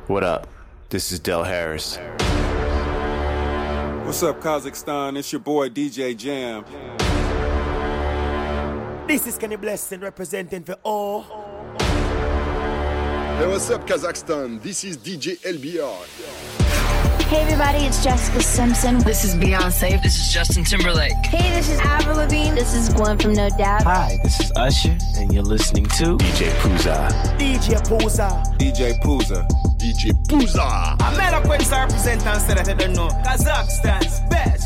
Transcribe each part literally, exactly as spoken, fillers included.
What up? This is Del Harris. What's up, Kazakhstan? It's your boy D J Jam. This is Kenny Blessing representing for all. Hey, what's up, Kazakhstan? This is D J L B R. Hey everybody, it's Jessica Simpson. This is Beyonce. This is Justin Timberlake. Hey, this is Avril Lavigne. This is Gwen from No Doubt. Hi, this is Usher, and you're listening to D J Pooza. D J Pooza. D J Pooza. D J Pooza. I'm not a quick representant that I don't know. Kazakhstan's best.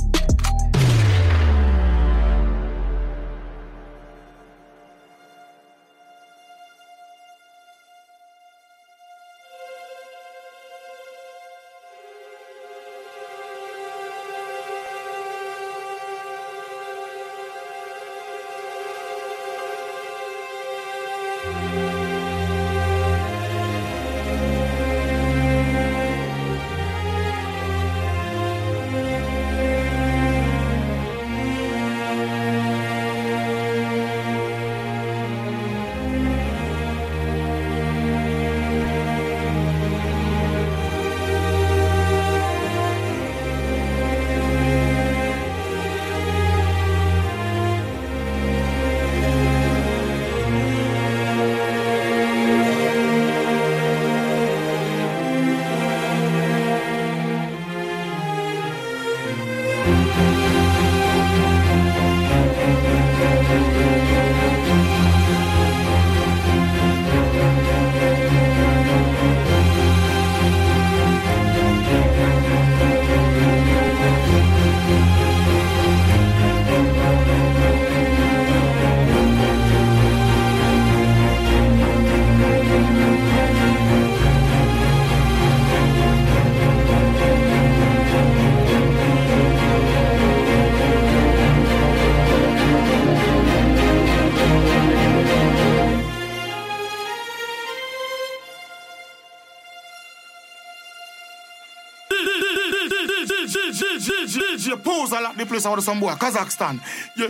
D J Pooza like the place out of some boy, Kazakhstan. Yeah.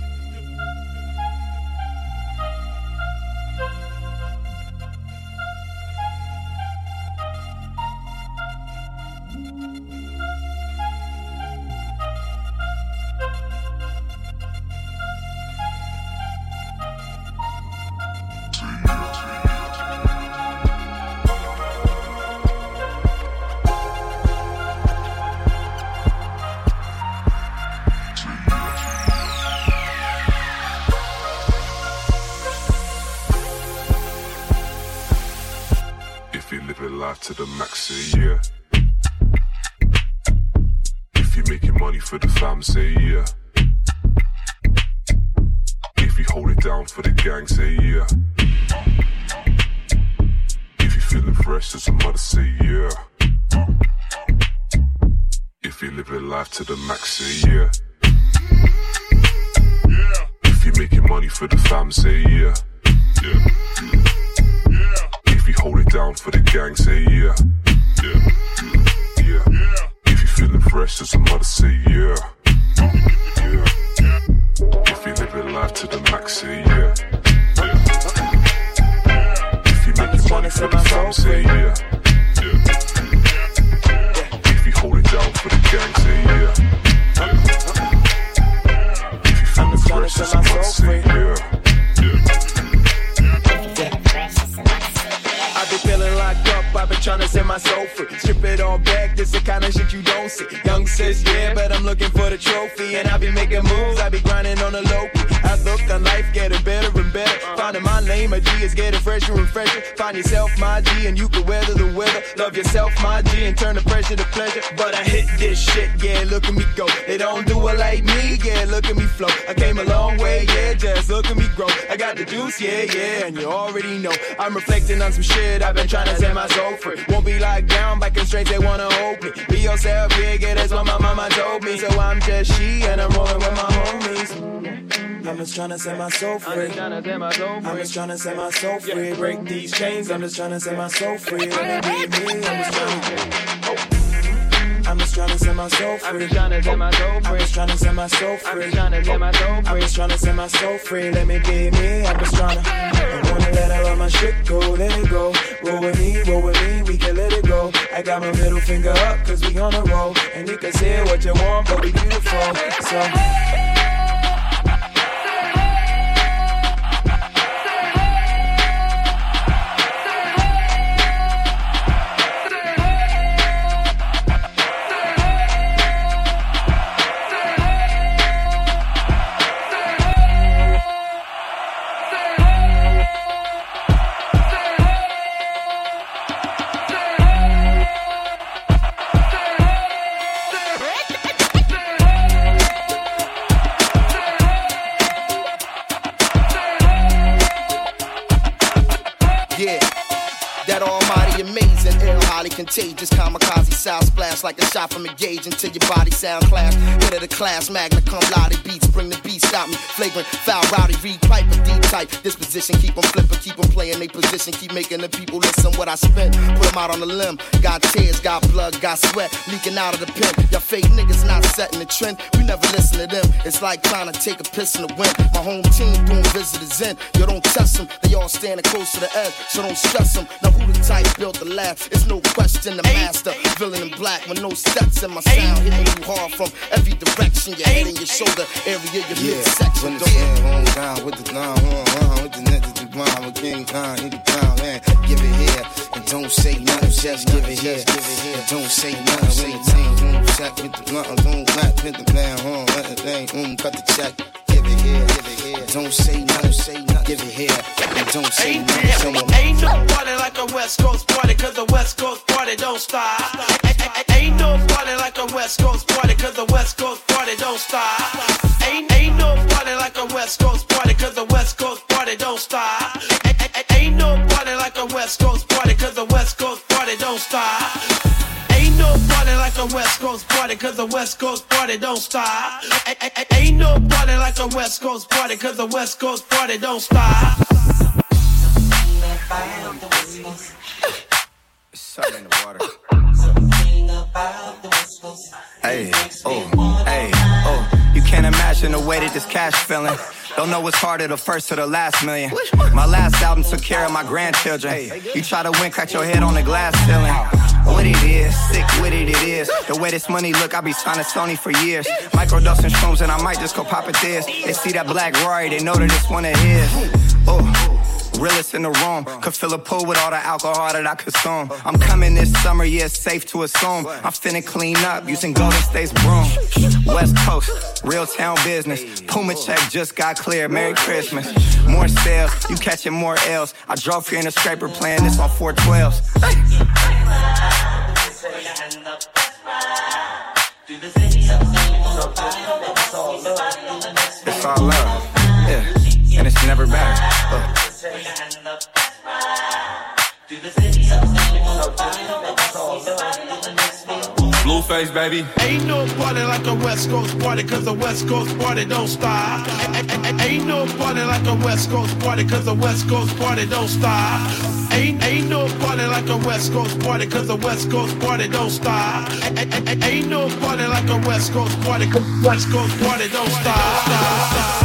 To the max, say yeah. If you're making money for the fam, say yeah. If you hold it down for the gang, say yeah. If you're feeling fresh as a mother, say yeah. If you're living life to the max, say yeah. Yeah. If you're making money for the fam, say yeah. Yeah. If you hold it down for the gang, say yeah. Yeah. Yeah. Yeah. If you feeling fresh as a mother, say yeah. Yeah. If you living life to the max, say yeah. Yeah. If you making money for the fam, say yeah. Yeah. If you hold it down for the gang, say yeah. Yeah. If you feeling fresh as a mother, say yeah. Feeling locked up, I've been trying to set my soul free. Strip it all back, this the kind of shit you don't see. Young sis, yeah, but I'm looking for the trophy. And I be making moves, I be grinding on the low key. I look on life getting better and better. Finding my lane, my G is getting fresher and fresher. Find yourself, my G, and you can weather the weather. Love yourself, my G, and turn the pressure to pleasure. But I hit this shit, yeah, look at me go. They don't do it like me, yeah, look at me flow. I came a long way, yeah, just look at me grow. I got the juice, yeah, yeah, and you already know. I'm reflecting on some shit, I've been trying to set my soul free. Won't be locked down by constraints, they wanna hold me. Be yourself, yeah, yeah, that's what my mama told me. So I'm just she, and I'm rolling with my homies. I'm just tryna set my soul free. I'm just tryna set my soul free. Break these chains, I'm just tryna set my soul free. Let me be me, I'm just tryna. I'm just tryna set my soul free. I'm just tryna set my soul free. I'm just tryna set my soul free. I'm just tryna set my soul free. I'm just tryna set my soul free. Let me be me, I'm just tryna. I wanna let her love my my shit go, let it go. Roll with me, roll with me, we can let it go. I got my middle finger up, cause we on a roll. And you can say what you want, but we beautiful. So contagious, kamikaze sound splash like a shot from a gauge until your body sound clash. Head of the class, magna cum laude beats, bring the beat, stop me. Flagrant, foul, rowdy, read pipe with deep type. Disposition, keep them flipping, keep them playing they position, keep making the people listen what I spent. Put them out on the limb, got tears, got blood, got sweat, leaking out of the pen. Y'all fake niggas not setting the trend, we never listen to them. It's like trying to take a piss in the wind. My home team doing visitors in, yo don't test them, they all standing close to the edge, so don't stress them. Now who the type built the lab? It's no question the master, villain in black with no steps in my sound, hitting you hard from every direction, your head and your shoulder area, your yeah. midsection. When the yeah. on down with the line, on, with the niggas, the grind, with King Khan, nigga down, man, give it here, and don't say nothing, just give it here, and don't say nothing, when the team, mm, check with the blunt, don't clap with the man, huh, let the thing, mm, cut the check, give it here, give it here, don't say nothing, say nothing, give it here, and don't say nothing, ain't, ain't no party like a West Coast party, cause the West Coast party don't stop. Ain't no party like a West Coast party, cause the West Coast party don't stop. Ain't, ain't no party like a West Coast party, cause the West Coast party don't stop. Ain't no party like a West Coast party, cause the West Coast party don't stop. Ain't no party like a West Coast party, cause the West Coast party don't stop. Ain't no party like a West Coast party, cause the West Coast party don't stop. Something in the water. Hey, oh, hey, oh. You can't imagine the way that this cash feeling. Don't know what's harder, the first or the last million. My last album took care of my grandchildren. You try to win, crack your head on the glass ceiling. What it is, sick with it, it is. The way this money look, I be signing Sony for years. Microdosing shrooms and I might just go pop it this. They see that black Rory, they know that it's one of his. Oh. Realest in the room, could fill a pool with all the alcohol that I consume. I'm coming this summer, yeah, it's safe to assume. I'm finna clean up using Golden State's broom. West Coast, real town business. Puma check just got cleared, Merry Christmas. More sales, you catching more L's. I drove here in a scraper playing this on four twelves. It's all love, yeah, and it's never better. Uh. Blueface, baby. Ain't no party like a West Coast party, cause the West Coast party don't stop. Ain't no party like a West Coast party, cause the West Coast party don't stop. Ain't, ain't no party like a West Coast party, cause the West Coast party don't stop. Ain't no party like a West Coast party, cause the West Coast party don't stop.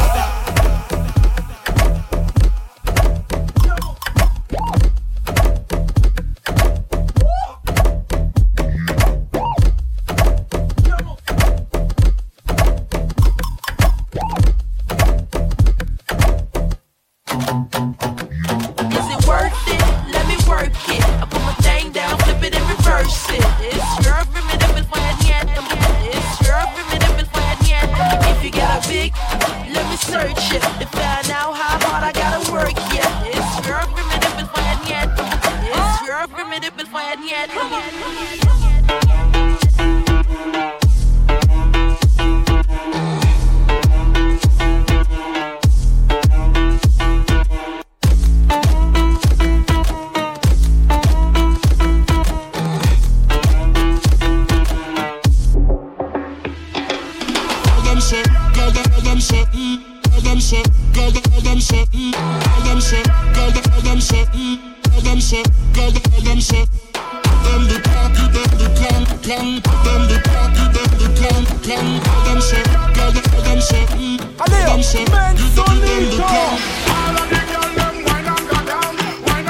Wine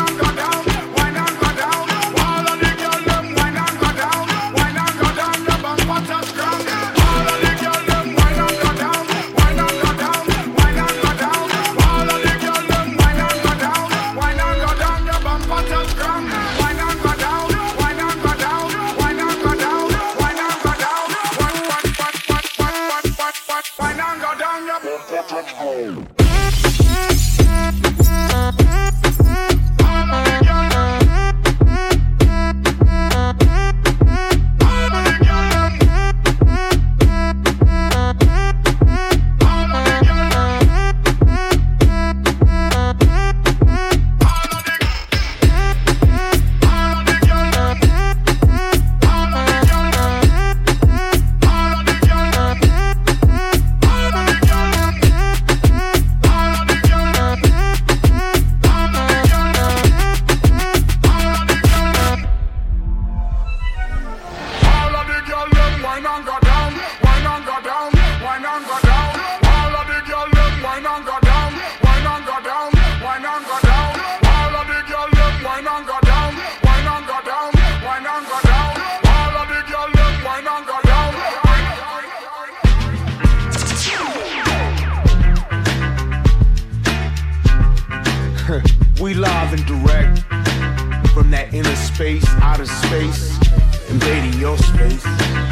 We live and direct from that inner space, outer space, invading your space.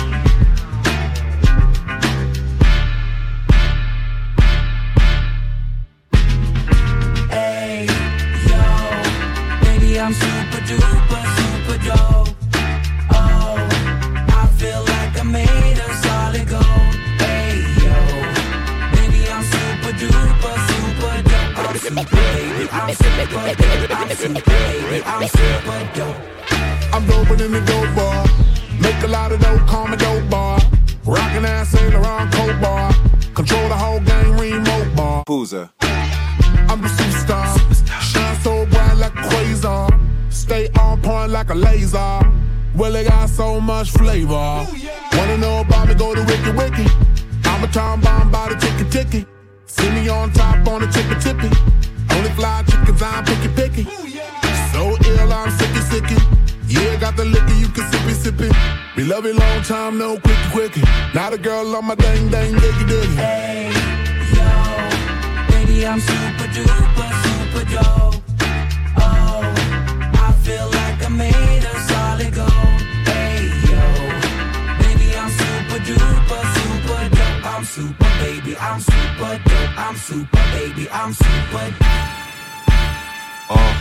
Hey, yo, baby, I'm super duper, super dope. Oh, I feel like I made a solid gold. Hey, yo, baby, I'm super duper, super dope. I'm super baby, I'm super dope. I'm super baby, I'm super dope. I'm doping in the dope bar. Make a lot of dope, call me dope bar. Rockin' ass Saint Laurent coat bar. Control the whole game, remote bar. Pooza. I'm the superstar. Shine so bright like a quasar. Stay on point like a laser. Well, it got so much flavor. Wanna know about me, go to Wiki Wiki. I'm a time bomb by the ticky ticky. See me on top on the tippy tippy. Only fly chickens, I'm picky picky. So ill, I'm sicky sicky. Yeah, got the liquor, you can sippy sippy. We love it long time, no quickie quickie. Not a girl on my dang dang diggy diggy. Hey, yo, baby, I'm super duper, super dope. Oh, I feel like I made a solid gold. Hey, yo, baby, I'm super duper, super dope. I'm super baby, I'm super dope. I'm super baby, I'm super dope. Uh.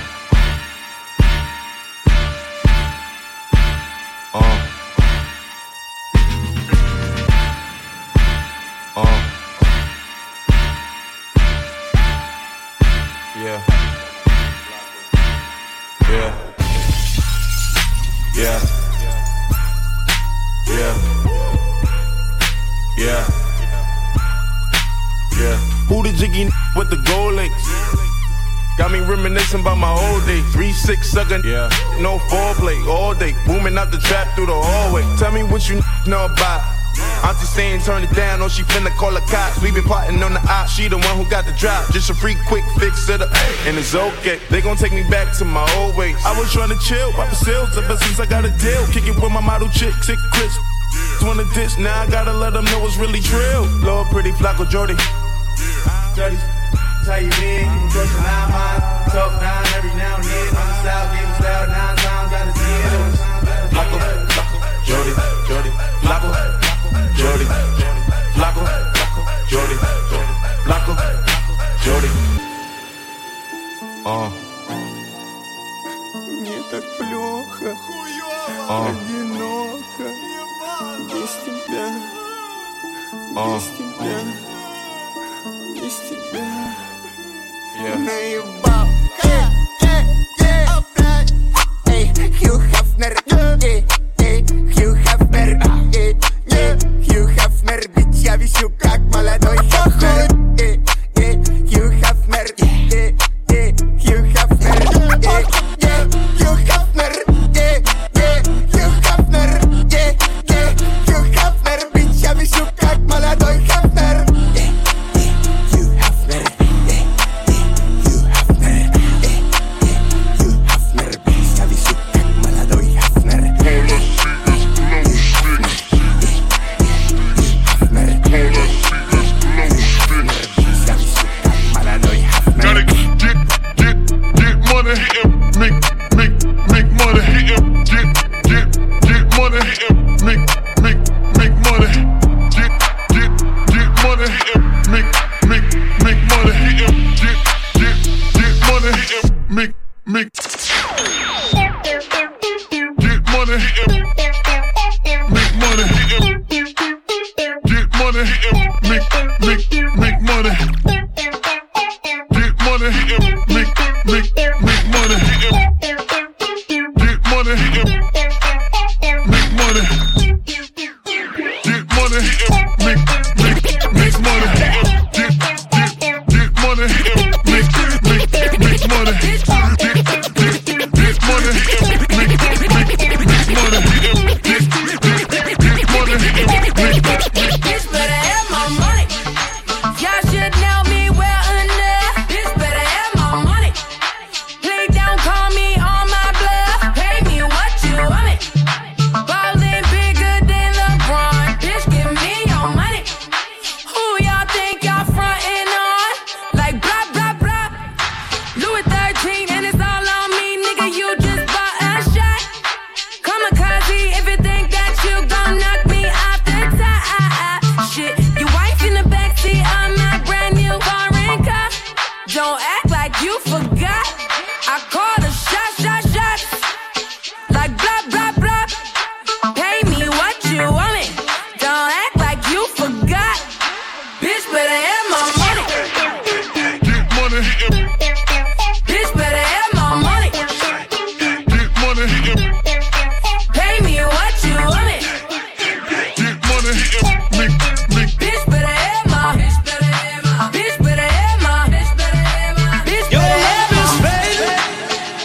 Uh. Uh. Yeah. Yeah. Yeah. Yeah. Yeah. Yeah. Who the jiggy with the gold links? Got me reminiscing about my old days. three six suckin', yeah. No foreplay all day. Booming out the trap through the hallway. Tell me what you know about. Auntie saying turn it down, or she finna call the cops. We been plotting on the op, she the one who got the drop. Just a free quick fix it up, and it's okay. They gon' take me back to my old ways. I was trying to chill, pop the sales ever since I got a deal. Kick it with my model chick, sick Chris. Wanna ditch, now I gotta let them know it's really trill. Lord pretty Flacco Jordy. Dirty. How you been? You can brush a nine mile. Talk nine every now and then. On the south, getting style nine times out of ten. Flacco, Flacco, Jordy, Jordy, Flacco, Jordy, Flacco, Jordy, Flacco, Jordy. Uh. Мне так плохо, uh. одиноко, без тебя, uh. без тебя. Без тебя yeah. наебал. Yeah, yeah, yeah. Эй, Хью Хафнер, эй, эй, Хью Хафнер, эй, эй, Хью Хафнер, ведь я висю как молодой Хафнер. Эй, эй, Хью Хафнер, эй, эй, Хью Хафнер, эй, эй, Хью Хафнер, эй, эй, Хью Хафнер, эй, эй, Хью Хафнер, ведь я висю как молодой Хафнер. Get money, you forgot. I call the shot, shot, shots. Like blah, blah, blah. Pay me what you want me. Don't act like you forgot. Bitch better have my money. Get money. Bitch better have my money. Get money. Pay me what you want me. Get money. Lick, lick. Bitch better have my. Bitch better have my. Bitch better have my. Bitch better have my. Bitch Your better have love is my. fading.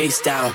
waist down.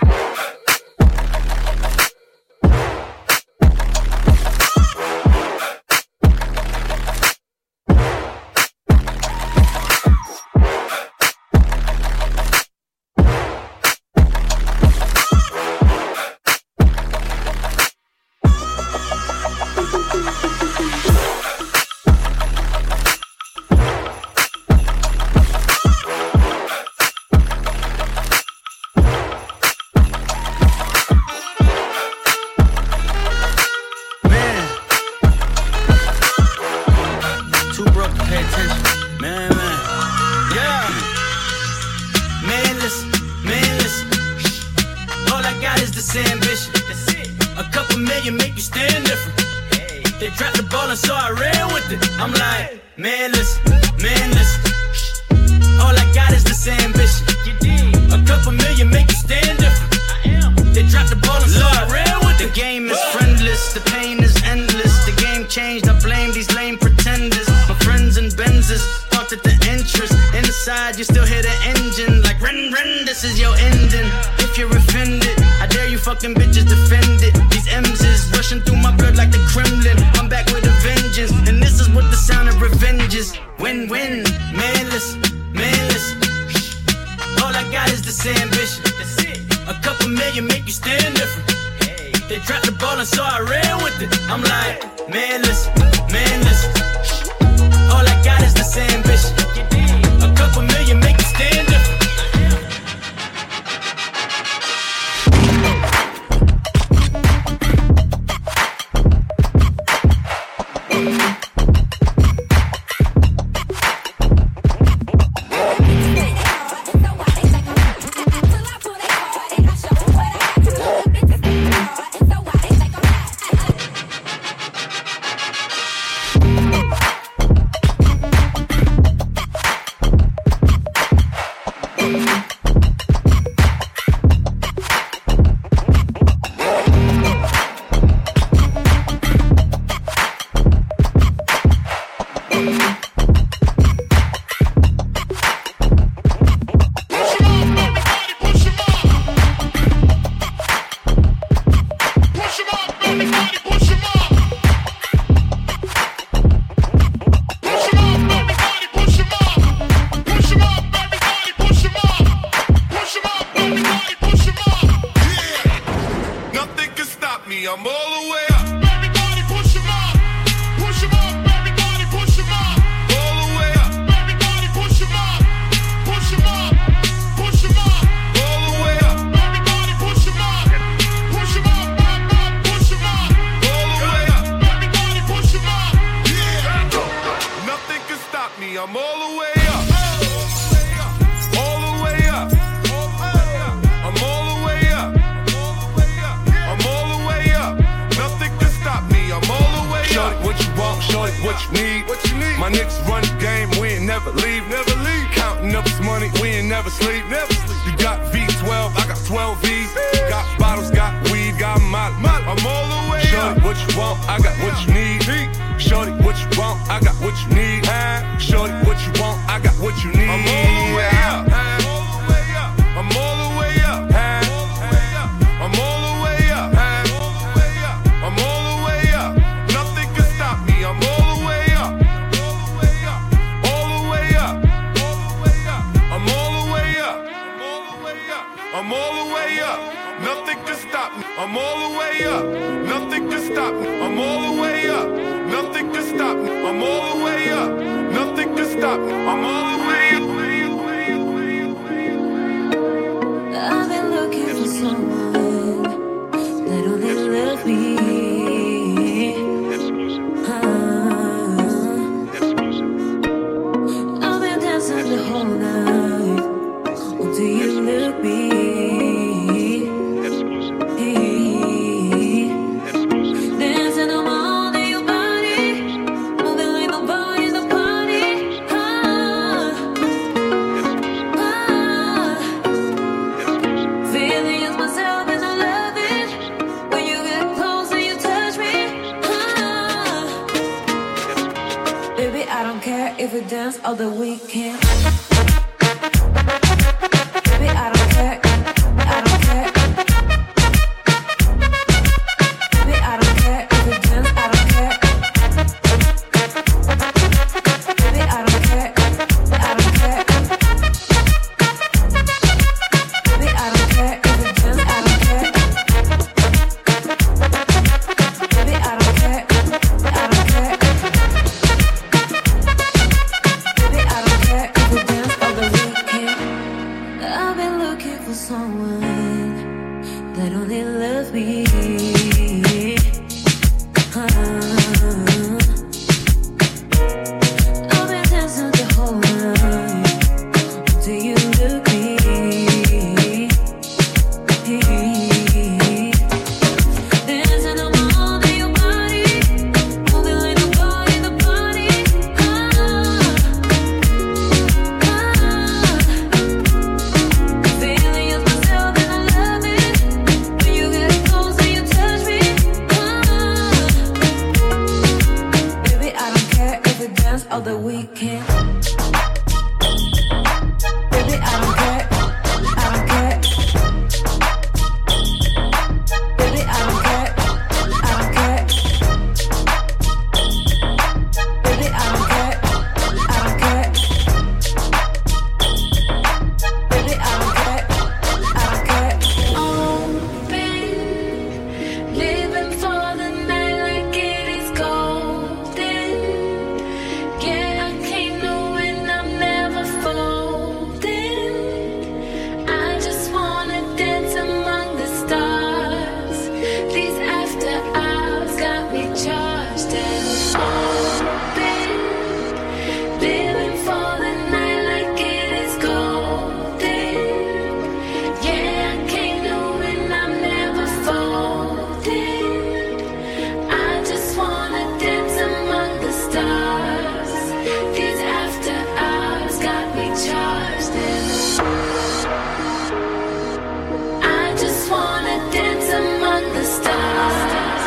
if we dance all the weekend. Baby, I don't care, I don't care. of the weekend. Baby, I don't care. I don't care. Baby, I don't care. I don't care. Baby, I don't care. I don't care. Baby, I don't care. I don't care. Open, living for the night like it is golden. Yeah, I can't know when I'm never folding. I just wanna dance among the stars. These after hours got me charged and open, living for the night like it is golden. Yeah, I can't know when I'm never folding. I just wanna dance among the stars. These after hours got me charged and I just wanna dance among the stars.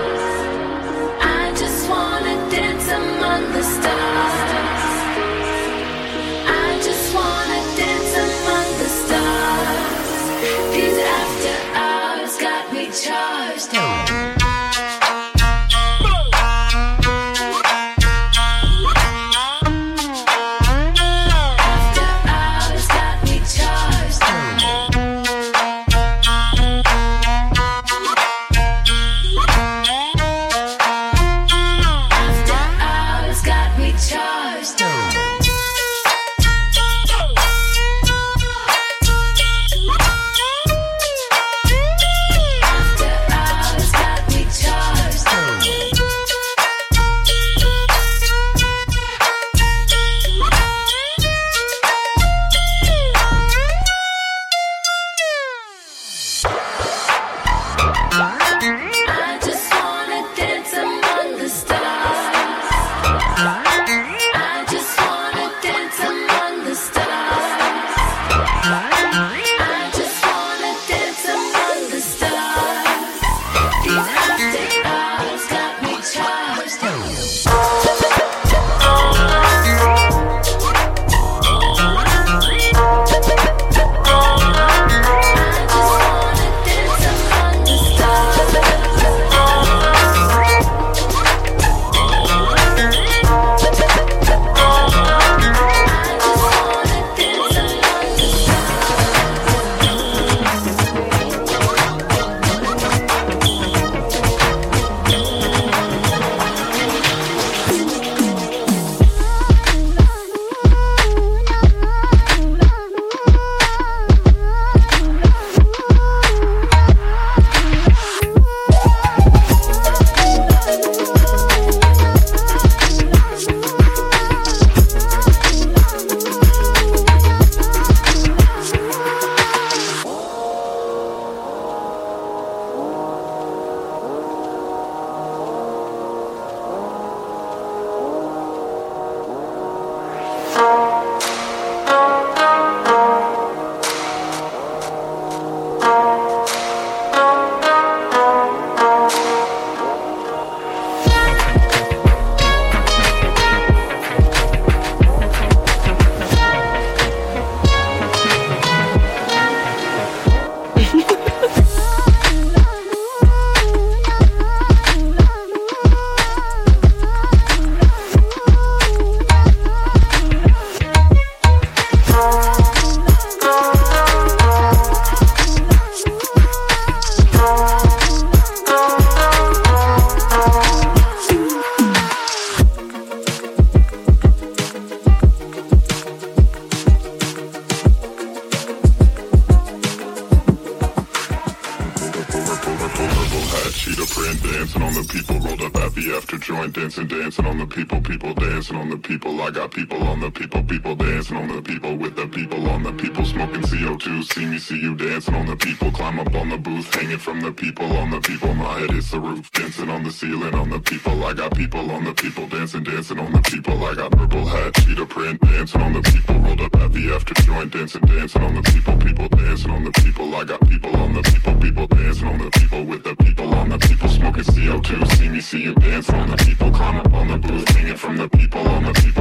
I just wanna dance among the stars. I just wanna dance among the stars. These after hours got me charged. After hours got me charged. After hours got me charged. After hours got me charged. I just wanna dance among the stars. I just wanna dance among the stars. I just wanna dance among the stars. These after hours got me charged. dancing on the people, rolled up happy after joint, dancing, dancing on the people, people dancing on the people. I got people on the people, people dancing on the people, with the people on the people, smoking C O two. See me, see you dancing on the people, climb up on the booth, hanging from the people, on the people. My head hits the roof, dancing on the ceiling on the people. I got people on the people, dancing, dancing on the people. I got purple hat, cheetah print, dancing on the people, rolled up happy after joint, dancing, dancing on the people, people dancing on the people. I got people on the people, people dancing on the people, with the people on the people, smoking C O two. See me, see you dancing on the people, climb up on the booth, hanging from the people, on the people.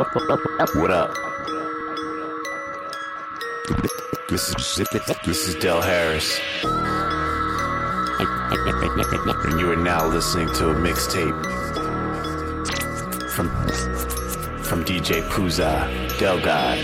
What up? This is this is Del Harris, and you are now listening to a mixtape from from D J Pooza, Del God.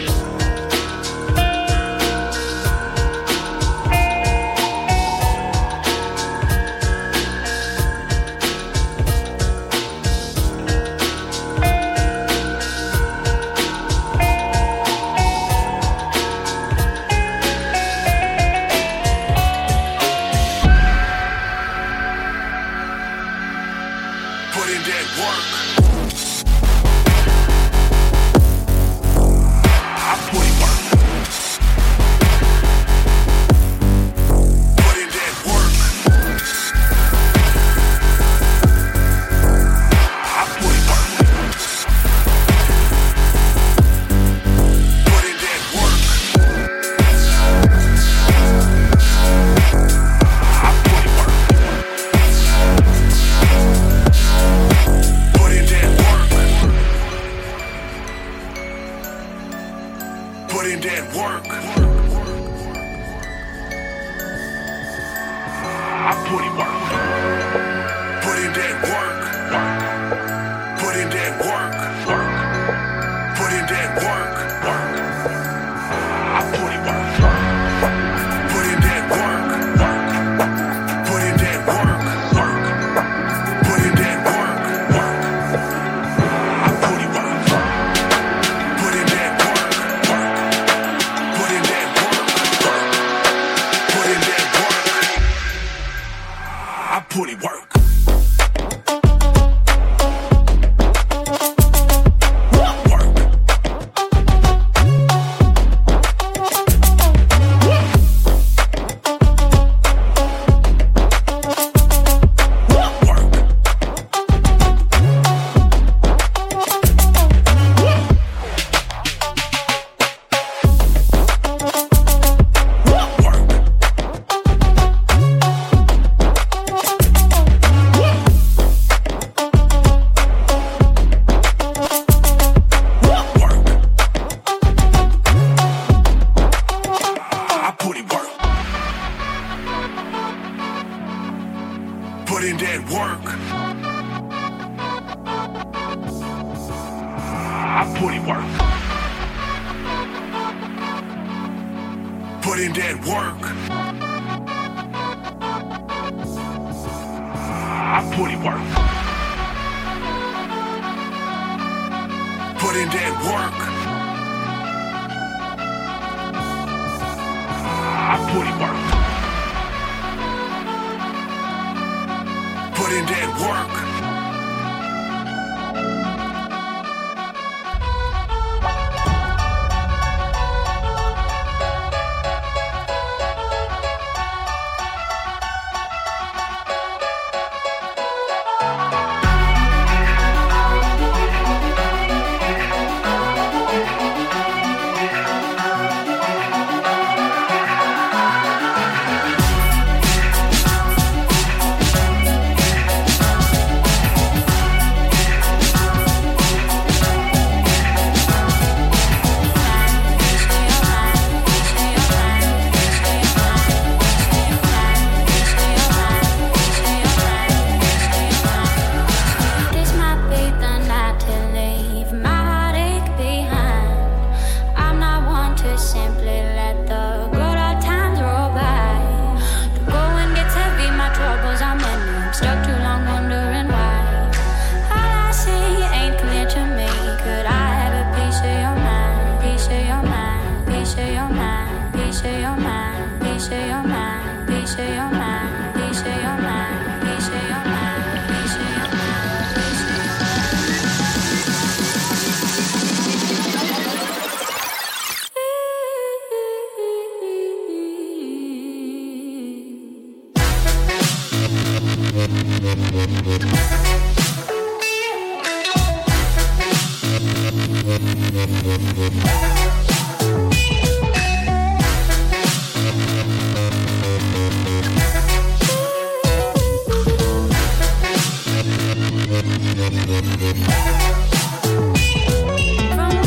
From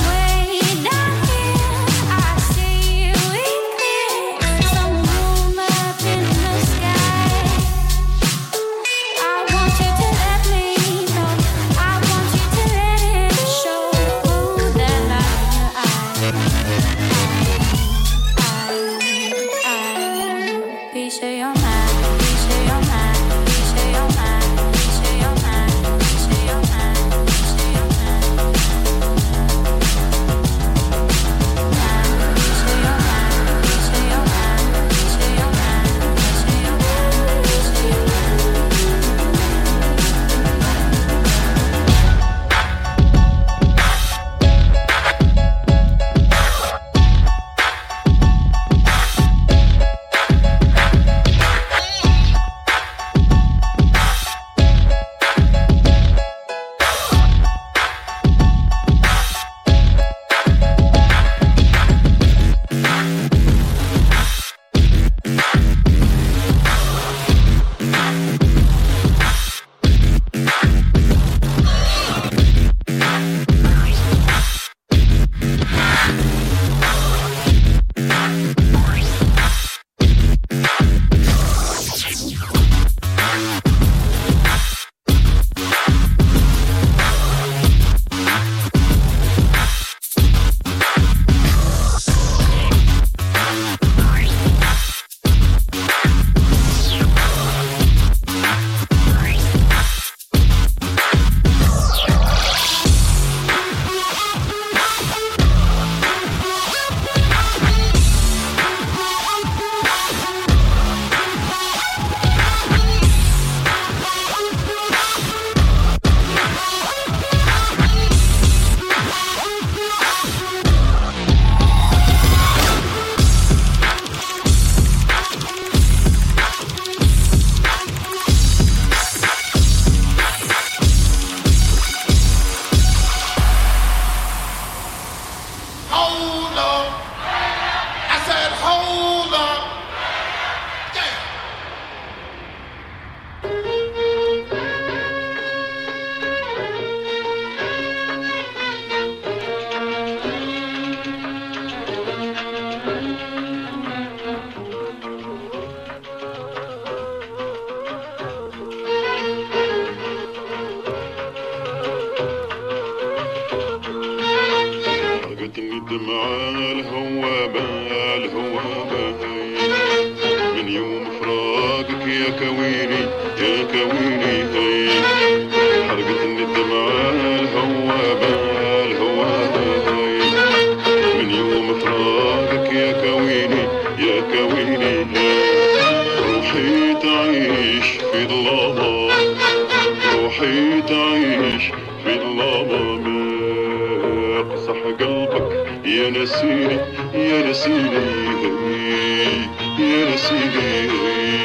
حرقتني الدمعة الهوابة الهوابة من يوم فراقك يا كويني يا كويني حرقتني الدمعة الهوابة الهوابة من يوم فراقك يا كويني يا كويني روحي تعيش في ظلامة روحي تعيش في ظلامة اقصح قلبك يا نسيني يا نسيني يا نسيني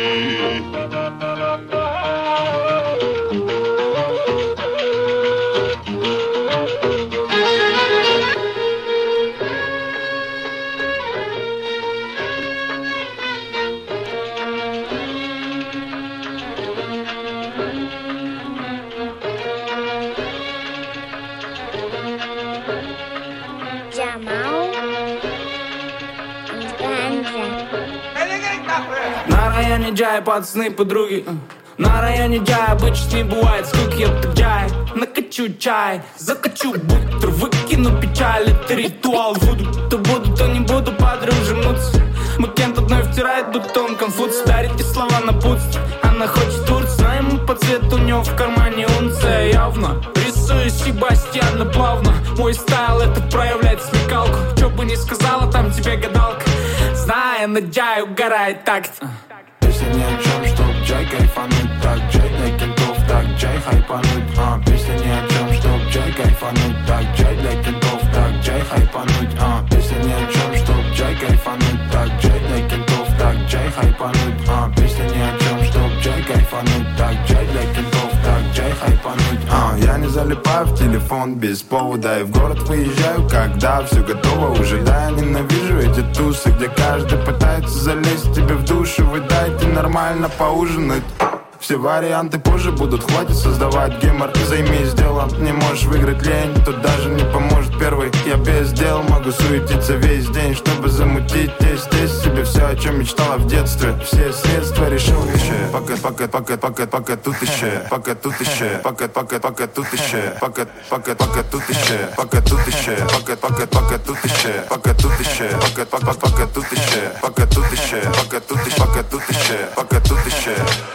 На районе Джай, пацаны, подруги. На районе Джай обычно не бывает скуки, я так Джай. Накачу чай, закачу бутер, выкину печаль, это ритуал вуду. То буду, то не буду, подружимуться. Макент одной втирает, будто он конфуц. Дарите слова на путстве, она хочет турц. Знаем мы по цвету, у него в кармане унция явно. Рисую Себастьяна плавно. Мой стайл это проявляет смекалку. Чё бы ни сказала, там тебе гадалка. Зная, на Джай угорает такт. Песня ни о чем, чтоб Джай кайфануть. Так, Джай для кентов, так, Джай хайпануть. А, песня ни о чем, чтоб Джай кайфануть. Так, Джай для кентов, так, Джай хайпануть. А, песня ни о чем, чтоб Джай кайфануть. Так, Джай для кентов, так, Джай хайпануть. А, песня ни о чем, чтоб Джай кайфануть. Так, Джай для кентов, так, Джай хайпануть. А, я не залипаю в телефон без повода и в город выезжаю, когда все готово уже. Да, я ненавижу эти тусы, где каждый пытается залезть тебе в душу. Вы дайте нормально поужинать. Все варианты позже будут, хватит создавать гемор. Займись делом, не можешь выиграть лень, тут даже не поможет первый. Я без дел могу суетиться весь день, чтобы замутить тесть, тесть себе все, о чем мечтала в детстве. Все средства решил еще. Пока, пока, пока, пока, пока тут еще. Пока тут еще. Пока, пока, пока тут еще. Пока, пока, пока тут еще. Пока тут еще. Пока, пока, пока тут еще. Пока тут еще. Пока, пока, пока тут еще. Пока тут еще. Пока тут еще. Пока тут еще. Пока тут еще.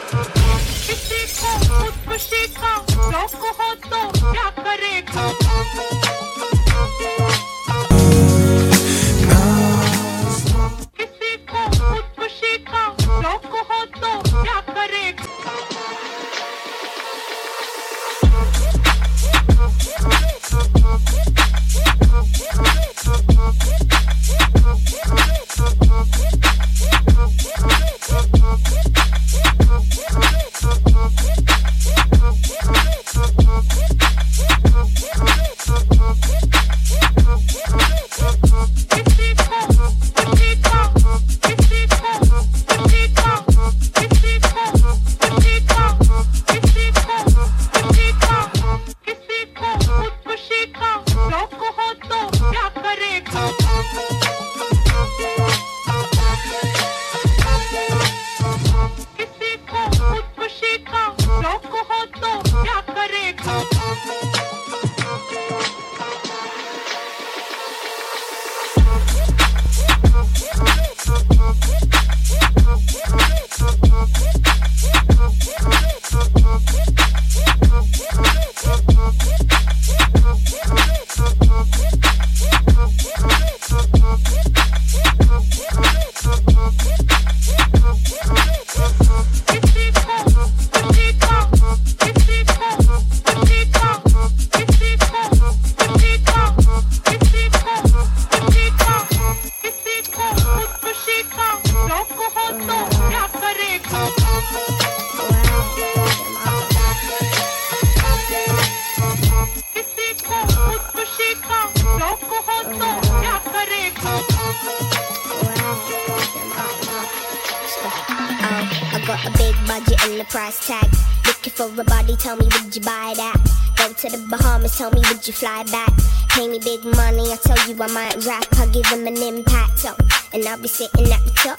Tell me, would you fly back? Pay me big money, I tell you I might rap. I'll give them an impact, so. And I'll be sitting at the top,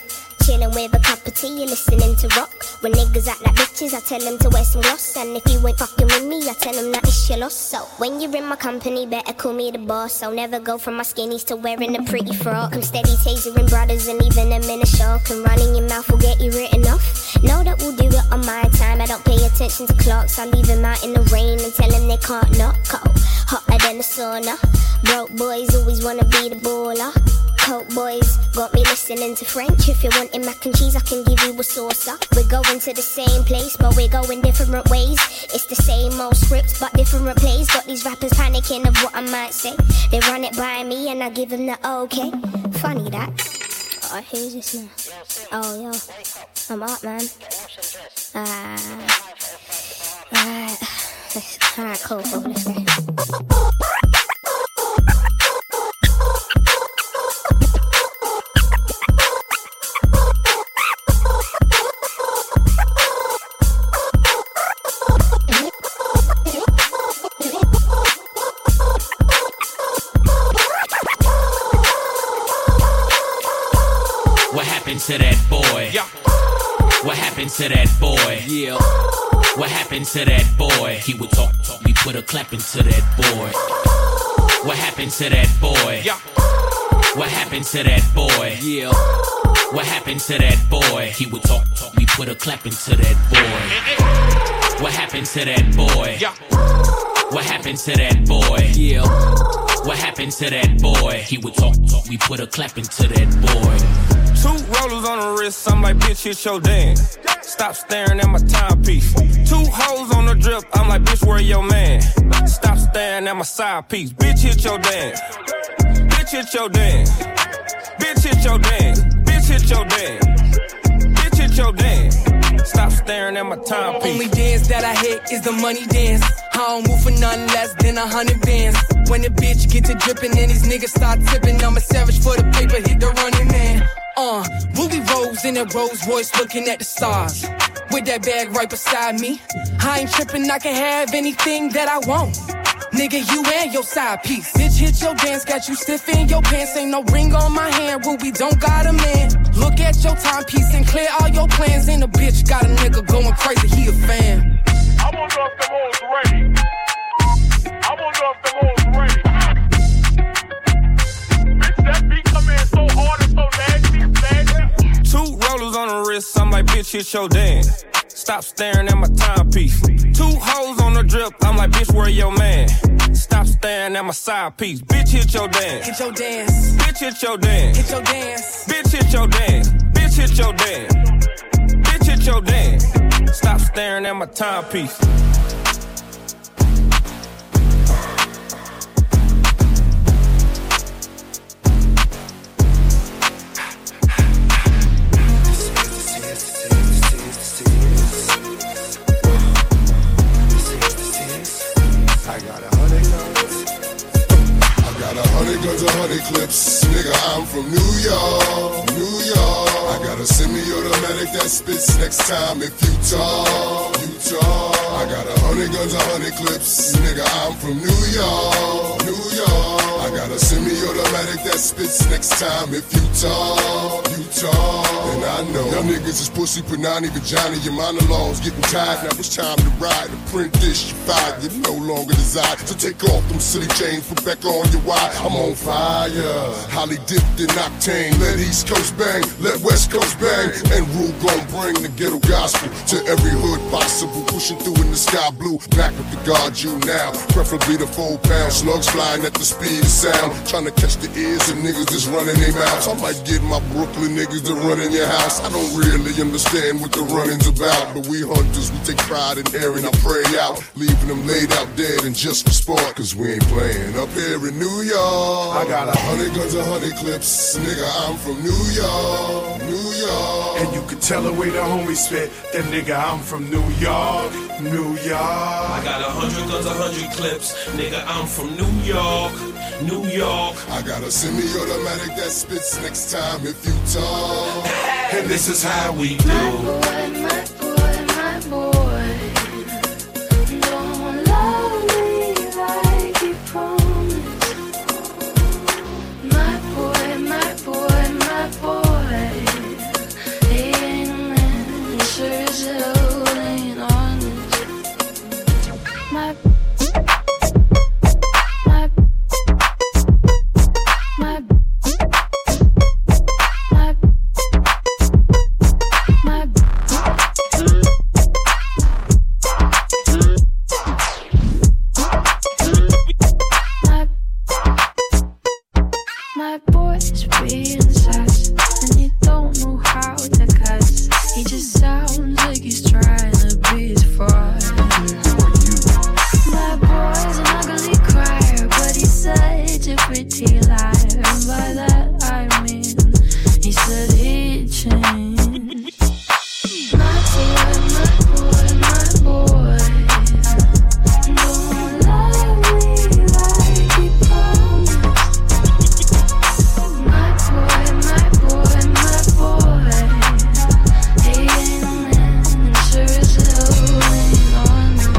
chillin' with a cup of tea, you listening to rock. When niggas act like bitches, I tell them to wear some gloss. And if you ain't fucking with me, I tell them that it's your loss. So when you're in my company, better call me the boss. I'll never go from my skinnies to wearing a pretty frock. I'm steady tasering brothers and even them in a shock. And running your mouth will get you written off. Know that we'll do it on my time. I don't pay attention to clocks. I leave them out in the rain and tell them they can't knock. Cold, hotter than a sauna. Broke boys always wanna be the baller. Coke boys got me listening to French. If you're wanting mac and cheese, I can give you a saucer. We're going to the same place, but we're going different ways. It's the same old scripts, but different plays. Got these rappers panicking of what I might say. They run it by me and I give them the okay. Funny that. Oh, who's this now? Oh, yo. I'm up, man. Uh, Alright. Alright, cool, cool. Let's go. To that boy? Yeah. What happened to that boy? Yeah. What happened to that boy? He would talk, talk, we put a clap into that boy. What happened to that boy? Yeah. What happened to that boy? Yeah. What happened to that boy? He would talk, talk, we put a clap into that boy. What happened to that boy? Yeah. What happened to that boy? Yeah. What happened to that boy? He would talk, talk, we put a clap into that boy. Two rollers on the wrist, I'm like, bitch, hit your dance. Stop staring at my timepiece. Two hoes on the drip, I'm like, bitch, where your man? Stop staring at my side piece. Bitch, hit your dance. Bitch, hit your dance. Bitch, hit your dance. Bitch, hit your dance. Bitch, hit your dance. Stop staring at my timepiece. Only dance that I hit is the money dance. I don't move for nothing less than a hundred bands. When the bitch get to dripping and these niggas start tipping, I'm a savage for the paper, hit the running man. Uh, Ruby Rose in a Rolls Royce looking at the stars. With that bag right beside me. I ain't tripping, I can have anything that I want. Nigga, you and your side piece. Bitch, hit your dance, got you stiff in your pants. Ain't no ring on my hand, Ruby don't got a man. Look at your timepiece and clear all your plans. And the bitch got a nigga going crazy, he a fan. I wonder if the hoes ready. I wonder if the hoes ready. Bitch, that beat come in so hard and so nasty, nasty. Two rollers on the wrist, I'm like, bitch, hit your dance. Stop staring at my timepiece. Two hoes on the drip, I'm like, bitch, where your man? Stop staring at my side piece. Bitch, hit your dance. Hit your dance. Bitch, hit your dance. Hit your dance. Bitch, hit your dance. Bitch, hit your dance. Bitch, hit your dance. Stop staring at my timepiece. I got a hundred guns. I got a hundred guns, a hundred clips. Nigga, I'm from New York, New York. I got a semi-automatic that spits next time if you talk, you talk. I got a hundred guns, a hundred clips. Nigga, I'm from New York, New York. I got a semi-automatic that spits next time if you talk, you talk. And I know y'all niggas is pussy, panani, vagina. Your monologues getting tired. Now it's time to ride. To print this, you fired. You no longer desire. So take off them silly chains, put back on your wire. I'm on fire. Holly dipped in octane. Let East Coast bang, let West Coast bang. And Rule gon' bring the ghetto gospel to every hood possible. Pushing through in the sky blue. Back with the guard you now. Preferably the four pound. Slugs flying at the speed of sound. Trying to catch the ears of niggas that's running their mouths. I might get my Brooklyn niggas to run in your house. I don't really understand what the running's about. But we hunters, we take pride in airing our prey out. Leaving them laid out dead and just for sport. Cause we ain't playing up here in New York. I got a hundred guns, a hundred clips. Nigga, I'm from New York, New York. And you can tell the way the homies spit. That nigga, I'm from New York, New York. I got a hundred guns, a hundred clips. Nigga, I'm from New York, New York. I got a semi-automatic that spits next time if you talk. And this is how we do. My boy, my boy, my boy, don't love me like he promised. My boy, my boy, my boy, My boy's being sus, and he don't know how to cuss. He just sounds like he's trying to be his friend. My boy's an ugly crier, but he's such a pretty liar. And by that I mean, he said he'd change. My boy, my boy, my boy, don't love me like he promised. My boy, my boy, my boy, he ain't a man, and sure as hell ain't honest.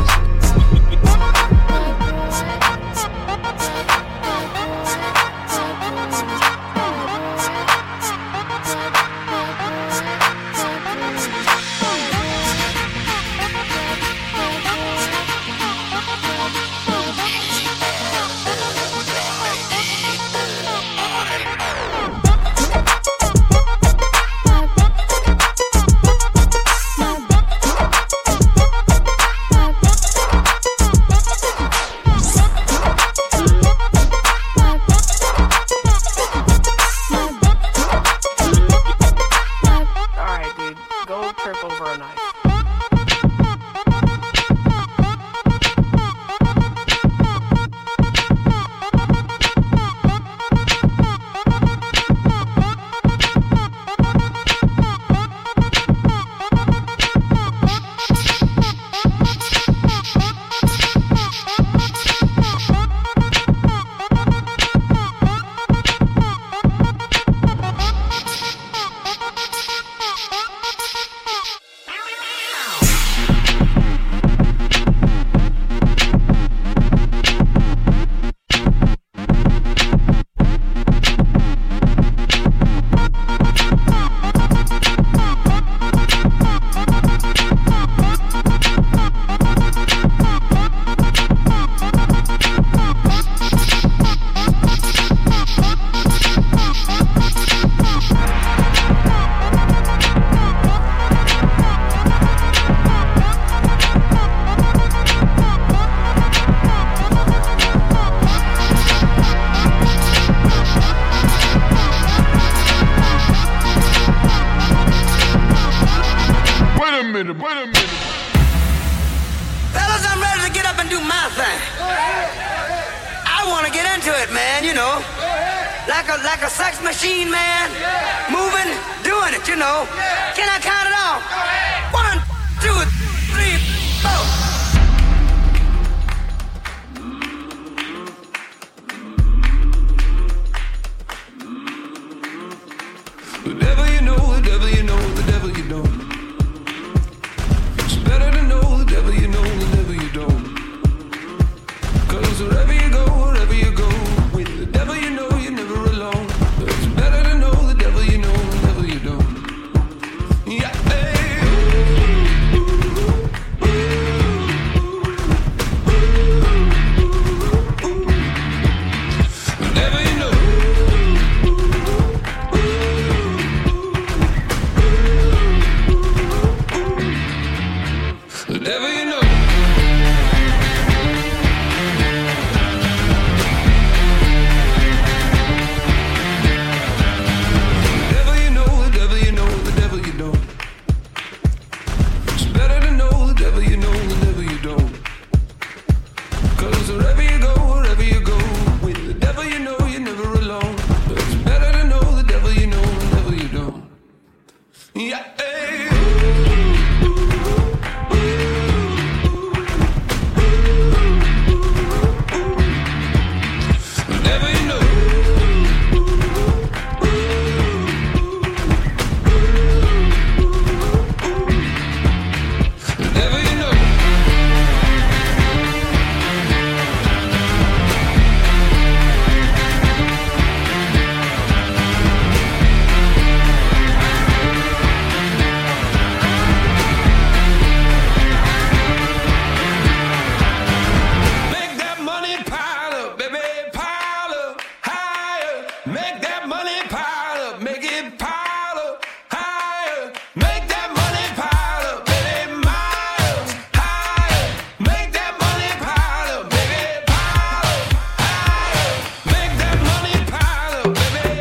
Baby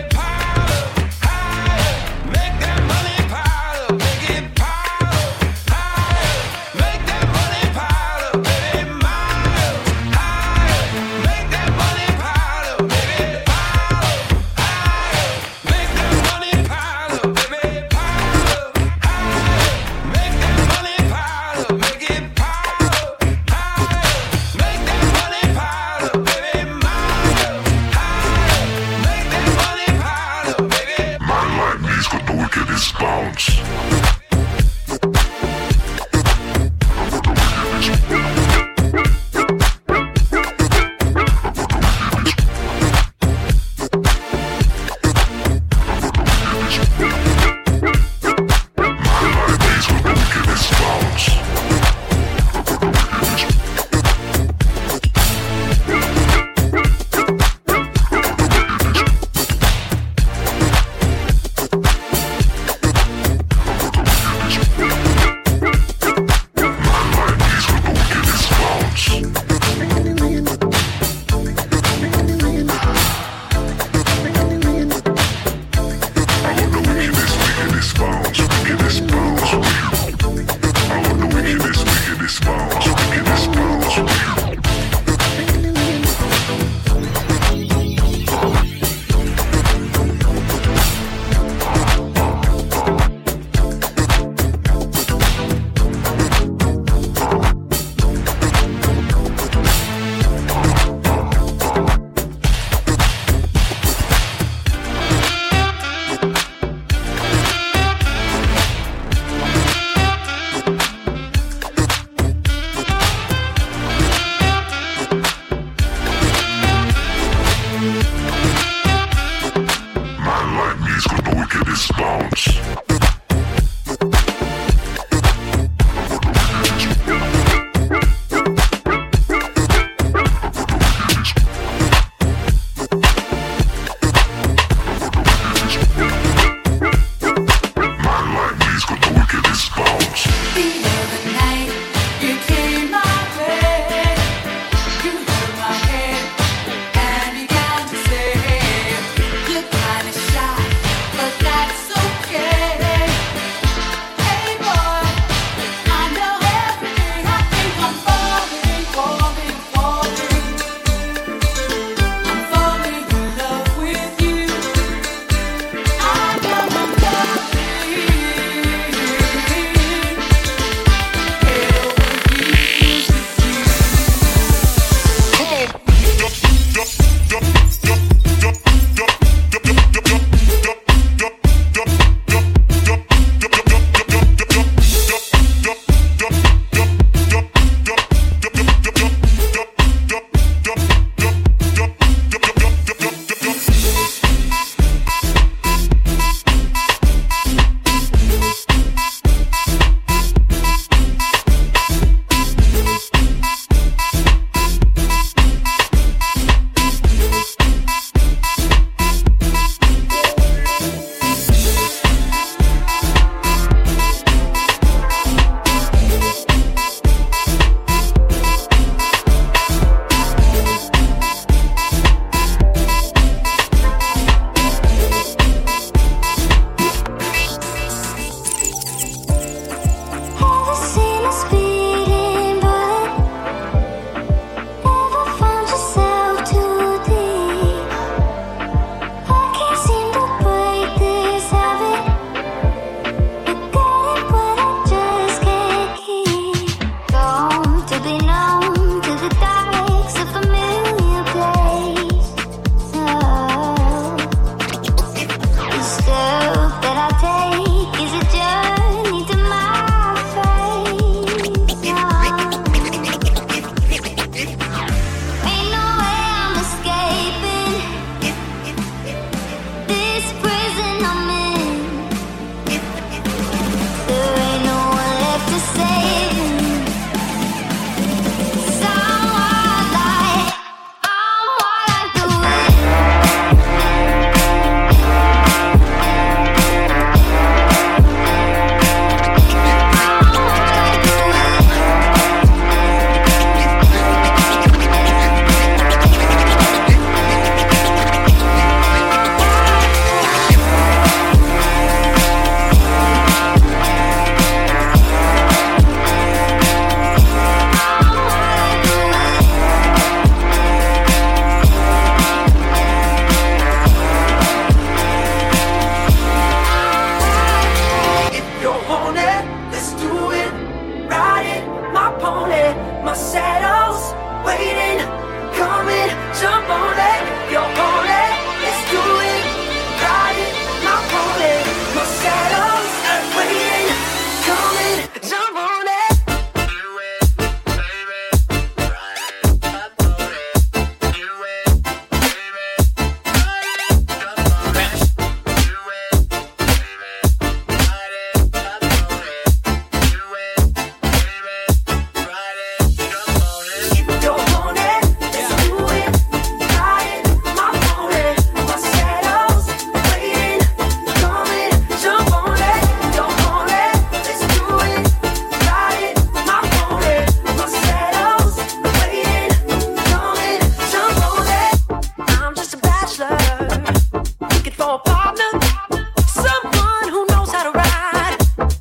for a partner, someone who knows how to ride.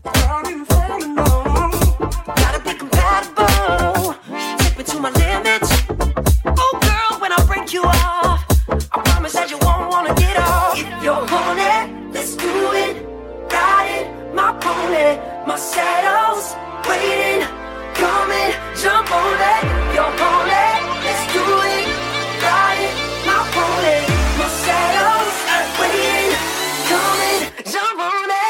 Gotta be compatible, take me to my limits. Oh girl, when I break you off, I promise that you won't wanna get off. If you're on it, let's do it. Ride it, my pony, my saddle's waiting, coming, jump on it. If you're on it, let's do it. Ride it, my pony, my saddle's waiting, coming, jump on it.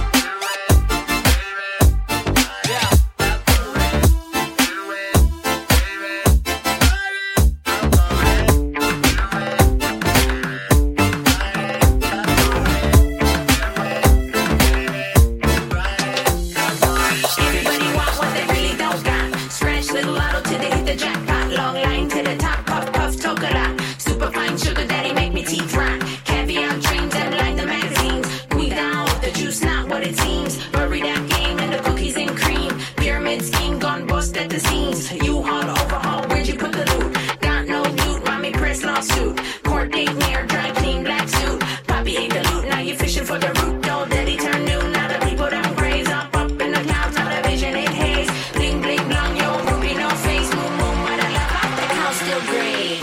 Everybody want what they really don't got. Scratch little lotto till they hit the jackpot. Long line to the top, puff puff chocolate. Super fine sugar daddy make me teeth rot. Caviar dreams and line the magazines. We down with the juice, not what it seems. Bury that game and the cookies and cream. Pyramid scheme gone bust at the seams. You haul overhaul, where'd you put the loot? Got no loot, mommy press lawsuit. Court date near, dry clean black suit. Poppy ate the loot, now you fishing for the root. Old daddy turn new, now the people don't praise. Up up in the clouds, now the vision it haze. Bling bling blong, yo, ruby no face. Moon moon, when I look up, the house still gray.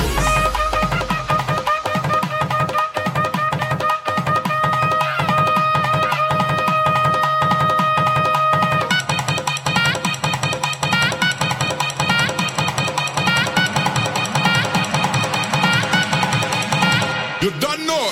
You done know.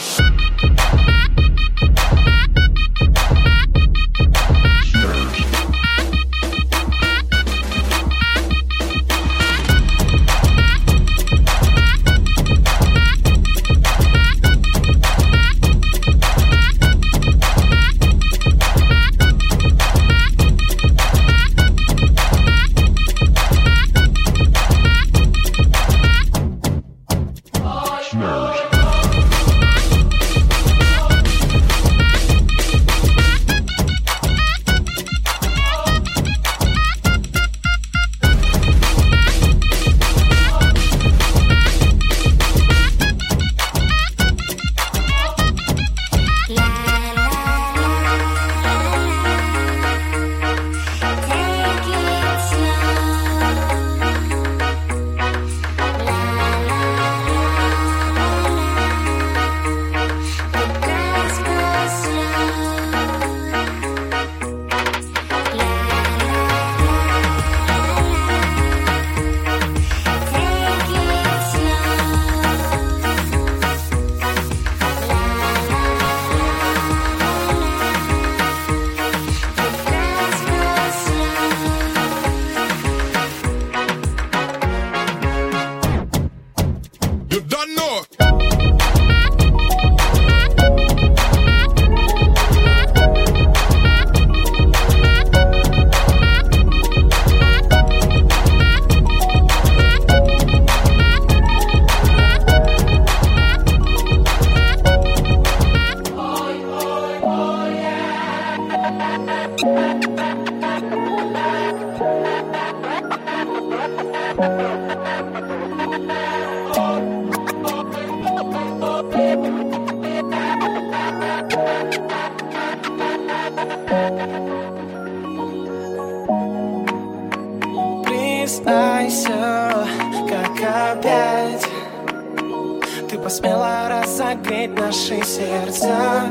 You done know. Признайся, как опять ты посмела разогреть наши сердца.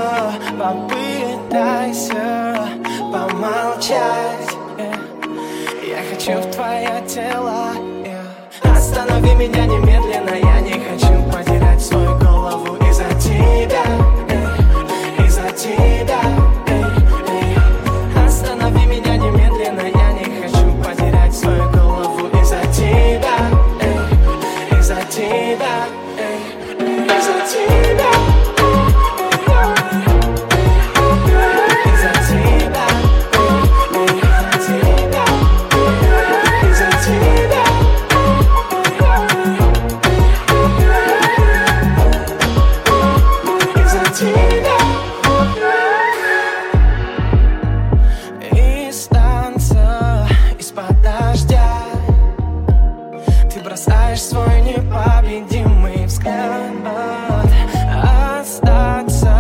Попытайся помолчать. Я хочу в твое тело. Останови меня немедленно. Я не хочу потерять свою голову из-за тебя, из-за тебя. Останови меня немедленно. Я не хочу потерять свою голову из-за тебя, из-за тебя, из-за тебя. Бросаешь свой непобедимый взгляд. Остаться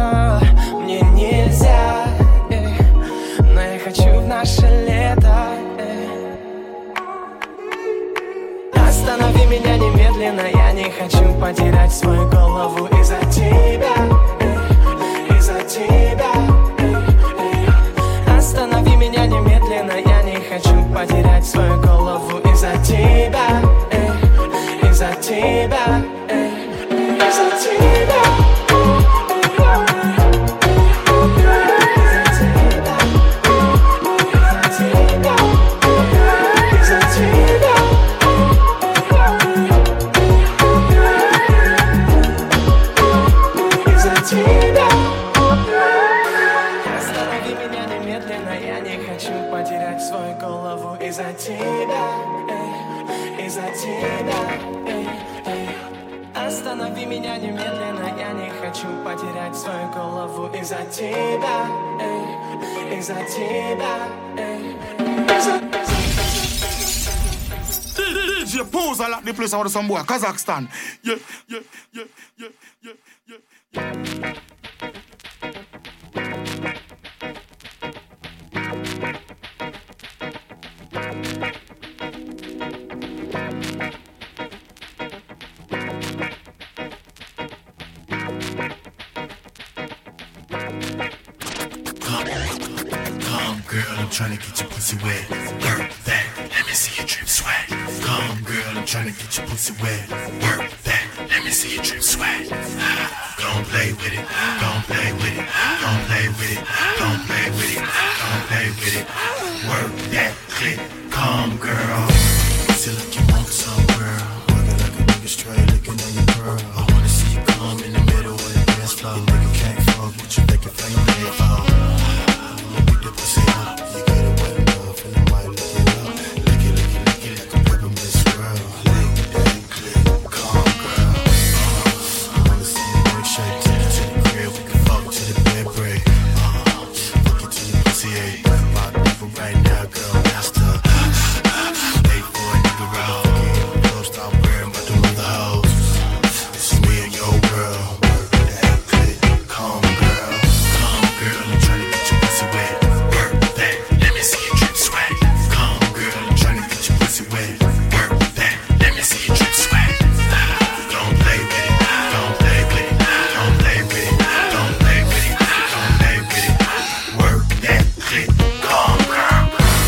тебя. Останови меня немедленно, я не хочу потерять свою голову из-за тебя, эй, из-за тебя, эй, эй. Останови меня немедленно, я не хочу потерять свою голову из-за тебя, эй, из-за тебя, эй, из-за тебя. D J Pooza like the place out of some boy, Kazakhstan. Yeah, yeah, yeah, yeah, yeah, yeah, yeah. Come, girl, I'm tryna get your pussy wet. Work that, let me see you drip sweat. Come, girl, I'm tryna get your pussy wet. Work that, let me see you drip sweat. Gon' play with it, gon' play with it, gon' play with it, gon' play with it, gon' play with it. Work that clip, come, girl. Feel like you want some, girl. Working like a nigga straight, looking at your girl. I wanna see you come in the middle of the dance floor. Nigga can't fuck with you, make your finger lay fall. The pussy up, you get it wet enough, and I might lick it up. Lick it, lick it, lick it like a peppermint swirl. Lick that clip, calm girl. Uh, I wanna see you make shake, take it to the crib, we can fuck to the bed break. Uh, fuck it till your pussy ache. My people right now, girl, master. Wait for a nigga roll. Don't stop worrying about them other hoes. This is me and your world. Work that clip, calm girl. Calm girl, I'm tryna get your pussy wet. Wet. Work that, let me see you drip sweat. Don't play with it, don't play with it, don't play with it, don't play with it, don't play with it. Work that clip, calm girl.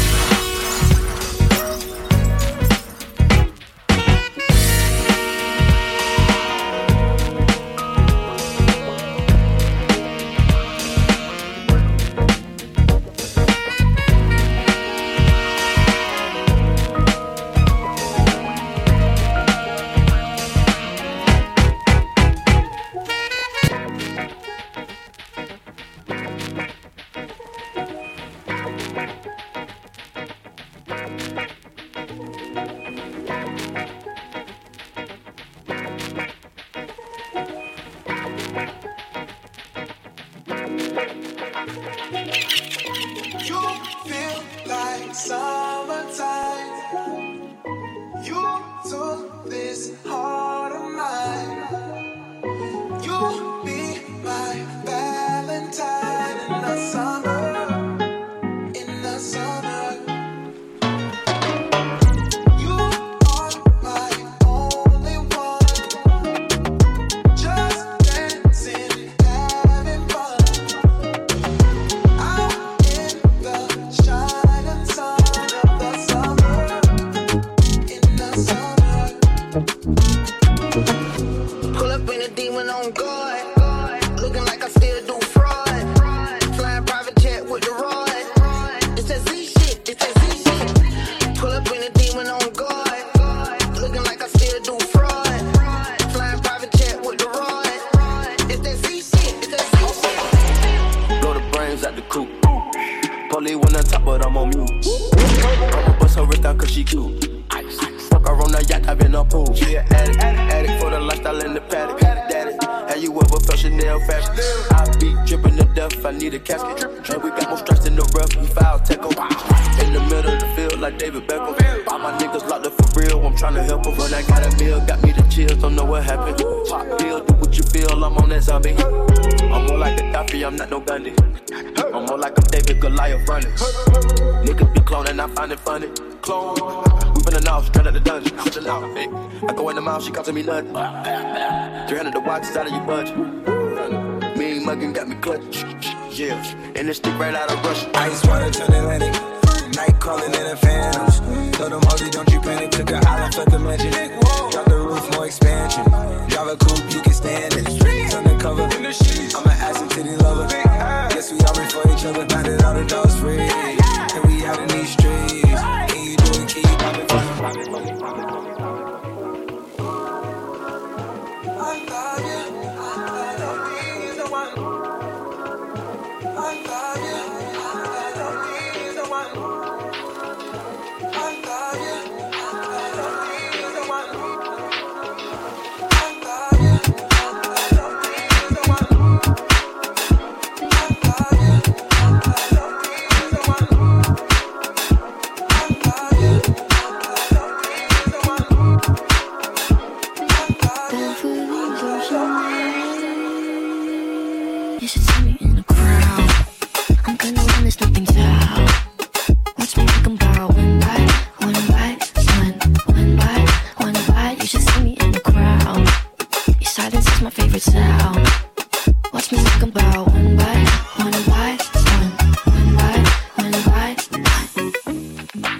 She comes to me nothing. three hundred the watches out of your budget. Mean muggin' got me clutch. Yeah, and this stick right out of Russia. Ice water turn Atlantic. Night calling in the phantoms. Told them, Ozzy, don't you panic. Took an island for the mansion. Drop the roof, more expansion. Drive a coupe, you can stand it. Undercover. I'm an ass and titty lover. Guess we all in for each other. Now that all the dogs free. And we out in these streets. And you do it, keep poppin', poppin', poppin', poppin', poppin'. You should see me in the crowd. I'm gonna run this nothing down. Watch me make them bow. One by, one by, one, one by, one by. You should see me in the crowd. Your silence is my favorite sound. Watch me make them bow. One by, one by, one, one by, one by, one.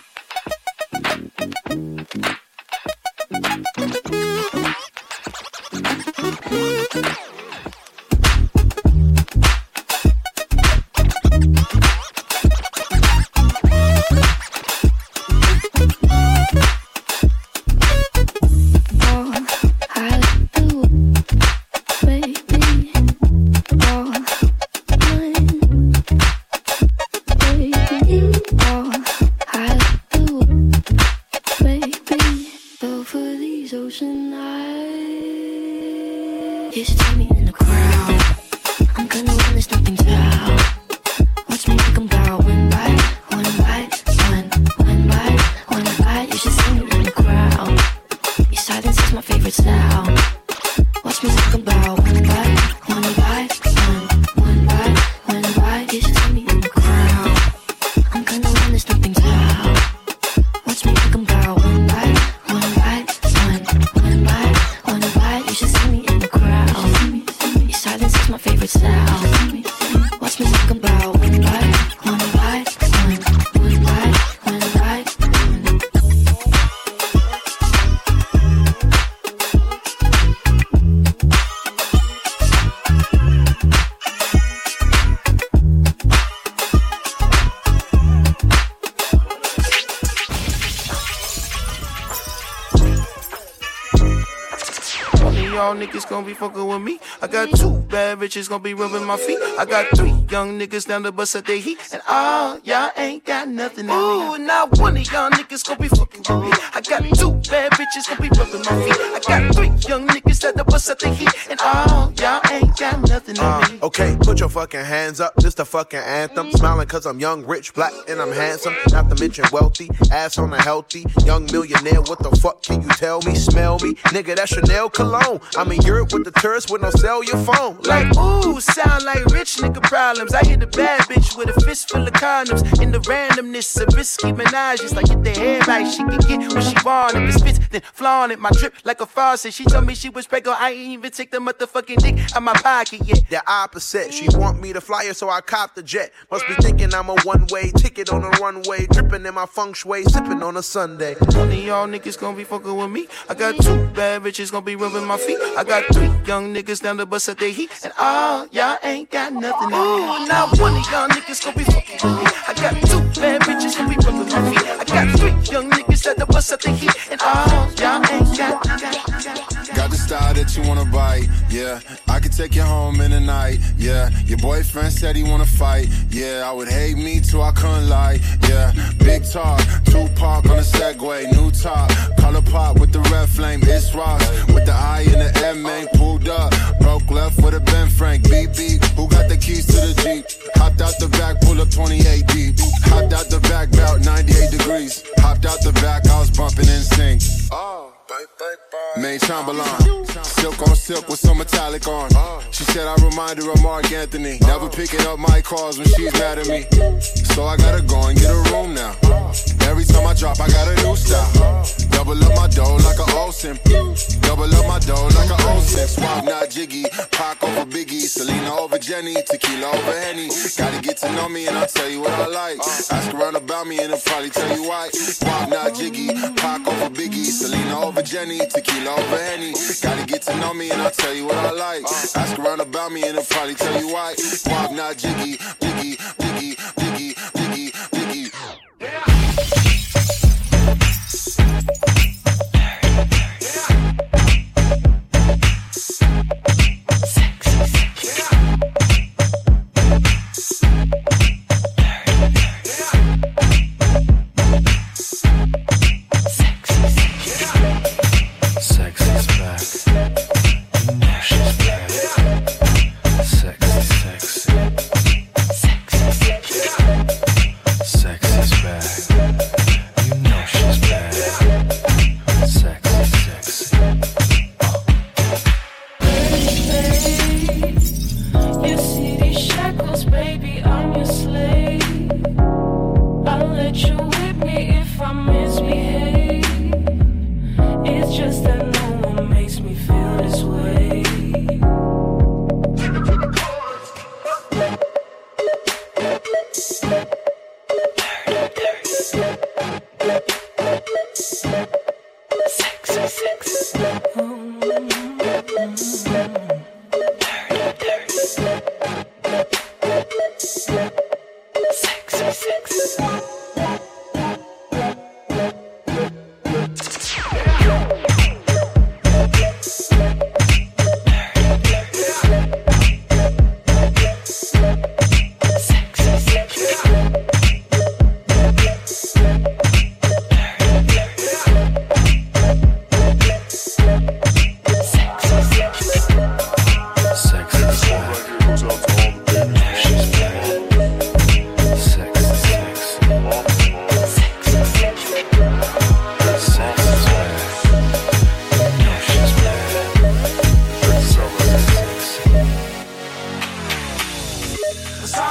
Niggas gonna be fucking with me. I got two bad bitches gonna be rubbing my feet. I got three young niggas down the bus at they heat. And all y'all ain't got nothing on me. Ooh, now one of y'all niggas gonna be fucking with me. I got two bad bitches gonna be rubbing my feet. I got three young niggas at the bus at they heat. And all y'all ain't got nothing on me. Uh, okay, put your fucking hands up. This the fucking anthem. Smiling cause I'm young, rich, black, and I'm handsome. Not to mention wealthy. Ass on a healthy young millionaire. What the fuck can you tell me? Smell me? Nigga, that's Chanel cologne. I'm in Europe with the tourists with no cell your phone. Like, ooh, sound like rich nigga problems. I hit a bad bitch with a fist full of condoms. In the randomness of risky menages. Like, get the head right, she can get what she want. If it spits, then flaunt it. My drip like a faucet. She told me she was pregnant. I ain't even take the motherfucking dick out my pocket yet. The opposite. She want me to fly her, so I cop the jet. Must be thinking I'm a one-way ticket on a runway. Dripping in my feng shui, sipping on a Sunday. None of y'all niggas gonna be fucking with me. I got two bad bitches gonna be rubbing my feet. I got three young niggas down the bus at they heat. And all y'all ain't got nothing on me. Now one of y'all niggas gonna be fucking with me. I got two bad bitches gonna be rubbing my feet. I got three young niggas at the bus at they heat. And all y'all ain't got, got, got, got the style that you wanna bite, yeah. I could take you home in the night, yeah. Your boyfriend said he wanna fight, yeah. I would hate me too, I couldn't lie, yeah. Big talk, Tupac on a Segway, new top, color pop with the red flame, it's Ross with the I and the M, ain't pulled up. Broke left with a Ben Frank, beep beep. Who got the keys to the Jeep? Hopped out the back, pull up twenty-eight deep. Hopped out the back, about ninety-eight degrees. Hopped out the back, I was bumping in sync. Oh. Main Chamberlain, silk on silk with some metallic on. She said I remind her of Mark Anthony. Never picking up my calls when she's mad at me. So I gotta go and get a room now. Every time I drop, I got a new style. Double up my dough like a Olsen. Double up my dough like a Olsen. Swap not Jiggy, Pac over Biggie, Selena over Jenny, Tequila over Henny. Gotta get to know me and I'll tell you what I like. Ask around about me and I'll probably tell you why. Swap not Jiggy, Pac over Biggie, Selena over Jenny, Tequila over Henny. Gotta get to know me and I'll tell you what I like. Ask around about me and I'll probably tell you why. Swap not Jiggy, Jiggy, Jiggy, Jiggy, Jiggy, Jiggy. Sexy's back.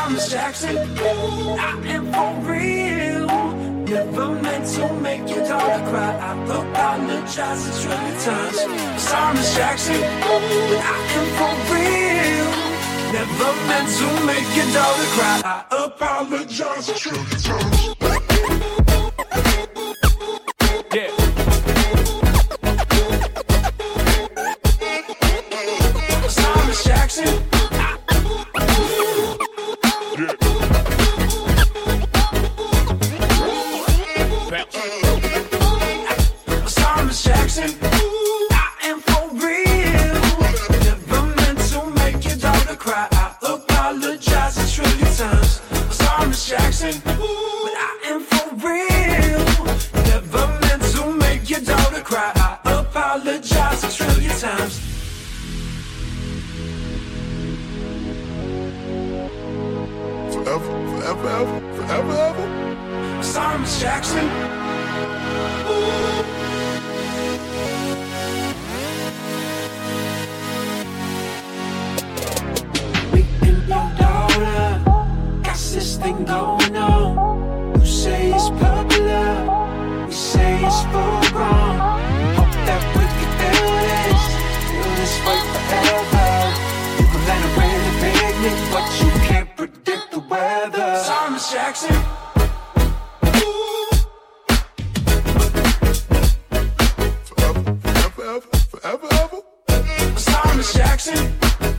Thomas Jackson, I am for real. Never meant to make your daughter cry. I apologize a trillion times. Thomas Jackson, I am for real. Never meant to make your daughter cry. I apologize a trillion times. Yeah. Thomas Jackson. Thomas Jackson, I am for real. Never meant to make your daughter cry. I apologize a trillion times. Thomas Jackson, but I am for real. Never meant to make your daughter cry. I apologize a trillion times. Forever, forever, ever, forever, ever. Thomas Jackson. Me and your daughter got this thing going on. You say it's popular, we say it's full grown. Hope that we can feel this, feel this way forever. You can let it rain and picnic, but you can't predict the weather. Thomas Jackson. Forever, ever. Thomas Jackson.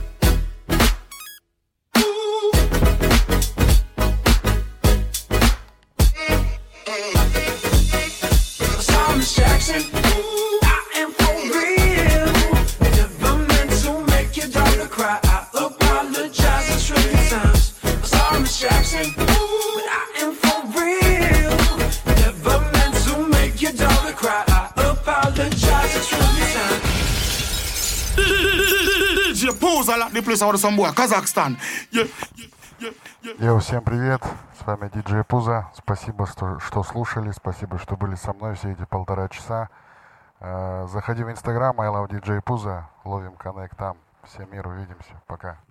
Thomas Jackson. I am for real. Never meant to make your daughter cry. I apologize a trillion times. Thomas Jackson. But I am for real. Never meant to make your daughter cry. I apologize a trillion times. ди джей Pooza, like the place out some boy, Kazakhstan. Yeah, yeah, yeah, yeah. Йоу, всем привет, с вами ди джей Pooza. Спасибо, что, что слушали, спасибо, что были со мной все эти полтора часа. Заходи в Инстаграм, I love ди джей Pooza, ловим коннект там. Всем мир, увидимся, пока.